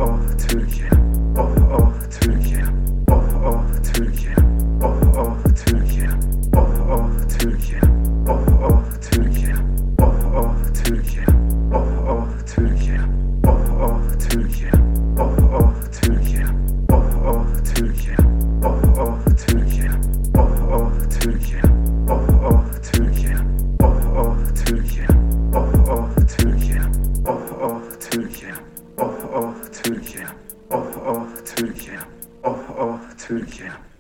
oh Türkiye. Oh oh Türkiye. Oh oh Türkiye. Oh oh Türkiye. Oh oh Türkiye. Oh oh Türkiye. Oh oh Türkiye. Oh oh Türkiye. Oh oh Türkiye. Oh oh Türkiye. Oh oh Türkiye. Oh oh Türkiye. Oh oh Türkiye. Oh oh Türkiye. Oh oh Türkiye. Oh oh Türkiye. Oh oh Türkiye. Oh oh Türkiye. Oh oh Türkiye. Oh oh Türkiye.